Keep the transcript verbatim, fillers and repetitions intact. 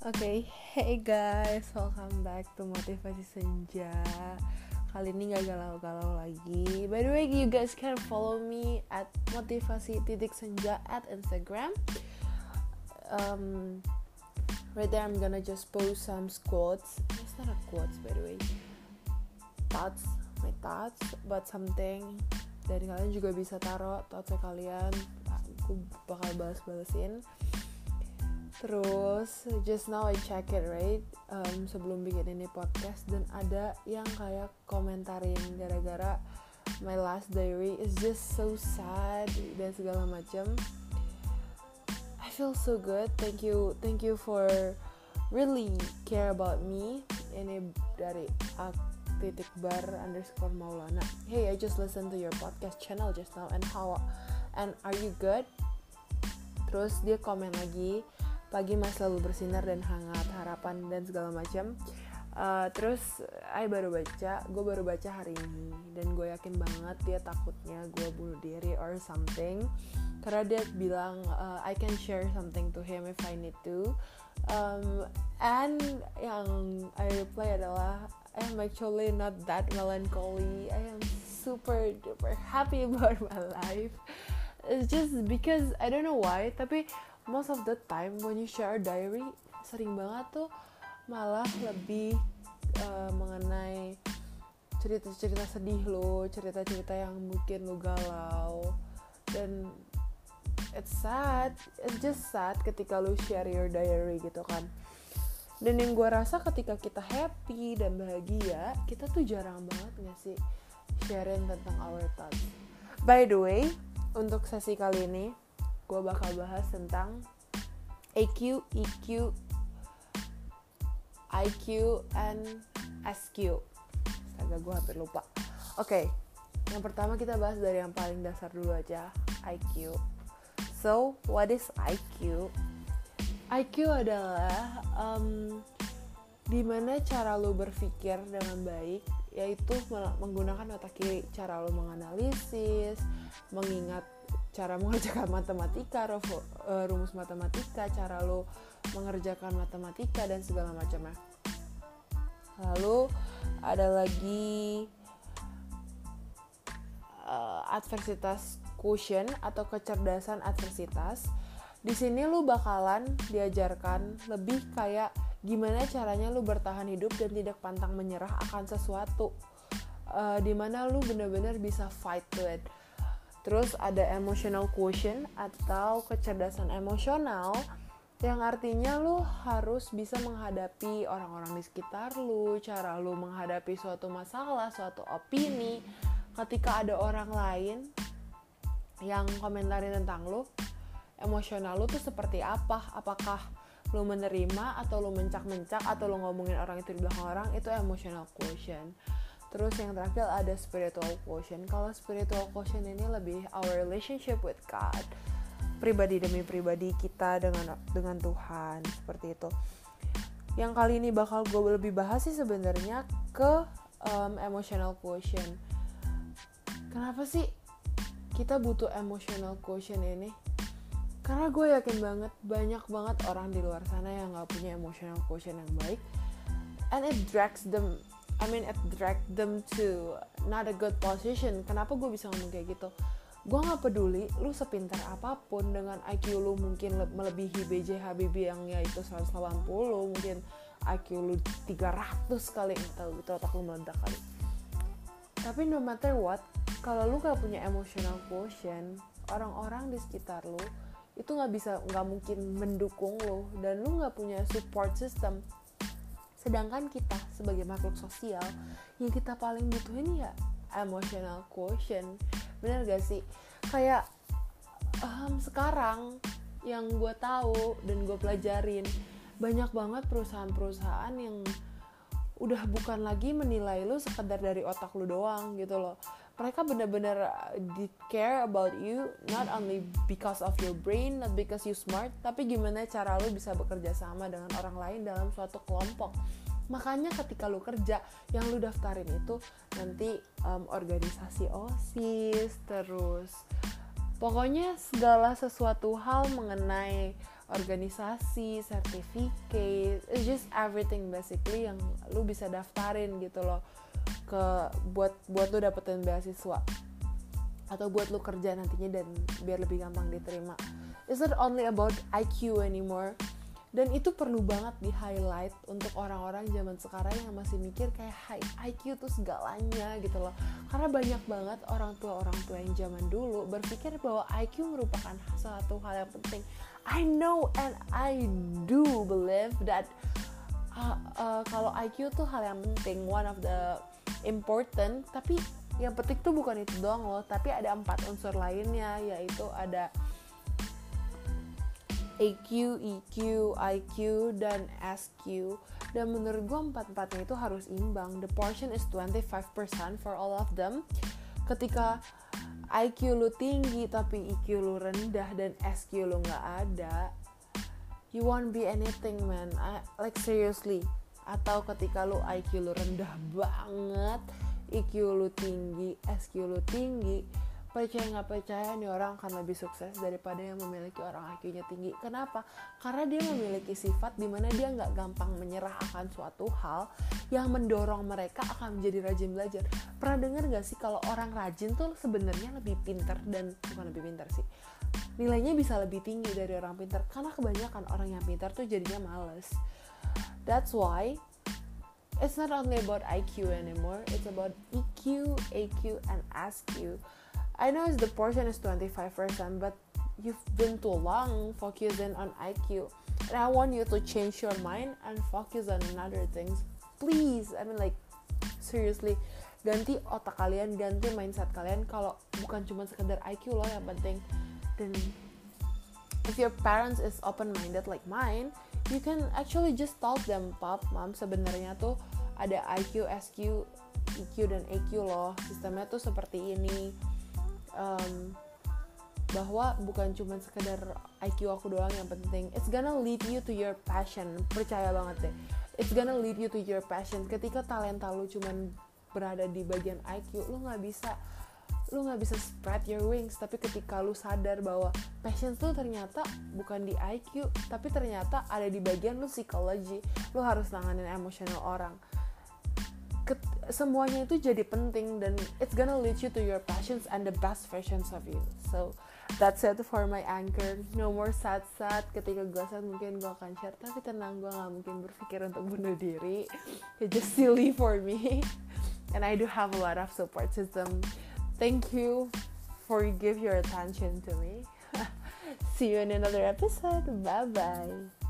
Oke, hey guys, welcome back to Motivasi Senja. Kali ini gak galau-galau lagi. By the way, you guys can follow me at motivasi titik senja at Instagram. Um, right there, I'm gonna just post some quotes. It's not a quotes, by the way. Thoughts, my thoughts about something. Dan kalian juga bisa taruh thoughtsnya kalian. Aku bakal balas-balesin. Terus just now I check it right um, sebelum bikin ini podcast, dan ada yang kayak komentarin gara-gara my last diary is just so sad dan segala macam. I feel so good. Thank you, thank you for really care about me. Ini dari ak titik bar underscore Maulana. Hey, I just listened to your podcast channel just now and how and are you good? Terus dia komen lagi, pagi mas selalu bersinar dan hangat, harapan dan segala macam. Uh, terus I baru baca, gue baru baca hari ini, dan gue yakin banget dia takutnya gue bunuh diri or something, karena dia bilang uh, I can share something to him if I need to. Um, and yang I reply adalah I am actually not that melancholy. I am super duper happy about my life. It's just because I don't know why, tapi most of the time when you share a diary, sering banget tuh malah lebih uh, mengenai cerita-cerita sedih lo, cerita-cerita yang mungkin lo galau, dan it's sad, it's just sad ketika lo share your diary gitu kan. Dan yang gue rasa ketika kita happy dan bahagia, kita tuh jarang banget gak sih sharing tentang our thoughts. By the way, untuk sesi kali ini gue bakal bahas tentang E Q, E Q, I Q, and S Q. Astaga, gue hampir lupa. Oke, okay, yang pertama kita bahas dari yang paling dasar dulu aja, I Q. So, what is I Q? I Q adalah um, dimana cara lo berpikir dengan baik, yaitu menggunakan otak kiri, cara lo menganalisis, mengingat, cara mengerjakan matematika, rumus matematika, cara lo mengerjakan matematika dan segala macamnya. Lalu ada lagi uh, adversitas quotient atau kecerdasan adversitas. Di sini lo bakalan diajarkan lebih kayak gimana caranya lo bertahan hidup dan tidak pantang menyerah akan sesuatu. Uh, dimana lo benar-benar bisa fight to it. Terus ada emotional quotient atau kecerdasan emosional, yang artinya lu harus bisa menghadapi orang-orang di sekitar lu, cara lu menghadapi suatu masalah, suatu opini. Ketika ada orang lain yang komentarin tentang lu, emosional lu tuh seperti apa? Apakah lu menerima atau lu mencak-mencak atau lu ngomongin orang itu di belakang orang? Itu emotional quotient. Terus yang terakhir ada spiritual quotient. Kalau spiritual quotient ini lebih our relationship with God, pribadi demi pribadi kita dengan dengan Tuhan, seperti itu. Yang kali ini bakal gue lebih bahas sih sebenarnya ke um, emotional quotient. Kenapa sih kita butuh emotional quotient ini? Karena gue yakin banget banyak banget orang di luar sana yang gak punya emotional quotient yang baik, and it drags them I mean it drag them to not a good position. Kenapa gue bisa ngomong kayak gitu? Gue gak peduli lu sepintar apapun, dengan I Q lu mungkin le- melebihi B J Habibie yang yaitu seratus delapan puluh, mungkin I Q lu tiga ratus kali, gak tau gitu, otak lu meledak kali. Tapi no matter what, kalau lu gak punya emotional quotient, orang-orang di sekitar lu itu gak bisa, gak mungkin mendukung lu, dan lu gak punya support system. Sedangkan kita sebagai makhluk sosial, yang kita paling butuhin ya emotional quotient. Bener gak sih? Kayak um, sekarang yang gue tahu dan gue pelajarin, banyak banget perusahaan-perusahaan yang udah bukan lagi menilai lu sekedar dari otak lu doang gitu loh. Mereka benar-benar uh, care about you, not only because of your brain, not because you smart, tapi gimana cara lu bisa bekerja sama dengan orang lain dalam suatu kelompok. Makanya ketika lu kerja, yang lu daftarin itu nanti um, organisasi OSIS, terus pokoknya segala sesuatu hal mengenai organisasi, sertifikat, it's just everything basically yang lu bisa daftarin gitu loh ke buat buat lu dapetin beasiswa atau buat lu kerja nantinya dan biar lebih gampang diterima. It's not only about I Q anymore. Dan itu perlu banget di highlight untuk orang-orang zaman sekarang yang masih mikir kayak I Q tuh segalanya gitu loh. Karena banyak banget orang tua-orang tua yang zaman dulu berpikir bahwa I Q merupakan suatu hal yang penting. I know and I do believe that uh, uh, kalau I Q tuh hal yang penting, one of the important, tapi yang penting tuh bukan itu doang loh, tapi ada empat unsur lainnya, yaitu ada A Q, E Q, I Q, dan S Q. Dan menurut gue empat-empatnya itu harus imbang. The portion is twenty-five percent for all of them. Ketika I Q lu tinggi tapi E Q lu rendah dan S Q lu gak ada, you won't be anything, man. I, like seriously. Atau ketika lu I Q lu rendah banget, E Q lu tinggi, S Q lu tinggi, percaya nggak percaya nih orang akan lebih sukses daripada yang memiliki orang I Q-nya tinggi. Kenapa? Karena dia memiliki sifat di mana dia nggak gampang menyerah akan suatu hal yang mendorong mereka akan menjadi rajin belajar. Pernah dengar nggak sih kalau orang rajin tuh sebenarnya lebih pintar, dan bukan lebih pintar sih, nilainya bisa lebih tinggi dari orang pintar. Karena kebanyakan orang yang pintar tuh jadinya males. That's why it's not only about I Q anymore. It's about E Q, A Q, and S Q. I know the portion is twenty-five percent, but you've been too long focusing on I Q. And I want you to change your mind and focus on other things. Please, I mean like, seriously, ganti otak kalian, ganti mindset kalian kalau bukan cuma sekedar I Q loh yang penting. Dan if your parents is open-minded like mine, you can actually just tell them, Pop, Mom, sebenarnya tuh ada I Q, S Q, E Q, dan A Q loh. Sistemnya tuh seperti ini. Um, bahwa bukan cuma sekedar I Q aku doang yang penting. It's gonna lead you to your passion. Percaya banget deh. It's gonna lead you to your passion. Ketika talenta lu cuma berada di bagian I Q, lu nggak bisa lu nggak bisa spread your wings. Tapi ketika lu sadar bahwa passion lu ternyata bukan di I Q, tapi ternyata ada di bagian lu psikologi, lu harus nanganin emosional orang. Ket- semuanya itu jadi penting, dan it's gonna lead you to your passions and the best versions of you. So that's it for my anchor. No more sad-sad. Ketika gue sad mungkin gue akan share, tapi tenang, gue gak mungkin berpikir untuk bunuh diri. It's just silly for me. And I do have a lot of support system. Thank you for give your attention to me. See you in another episode. Bye bye.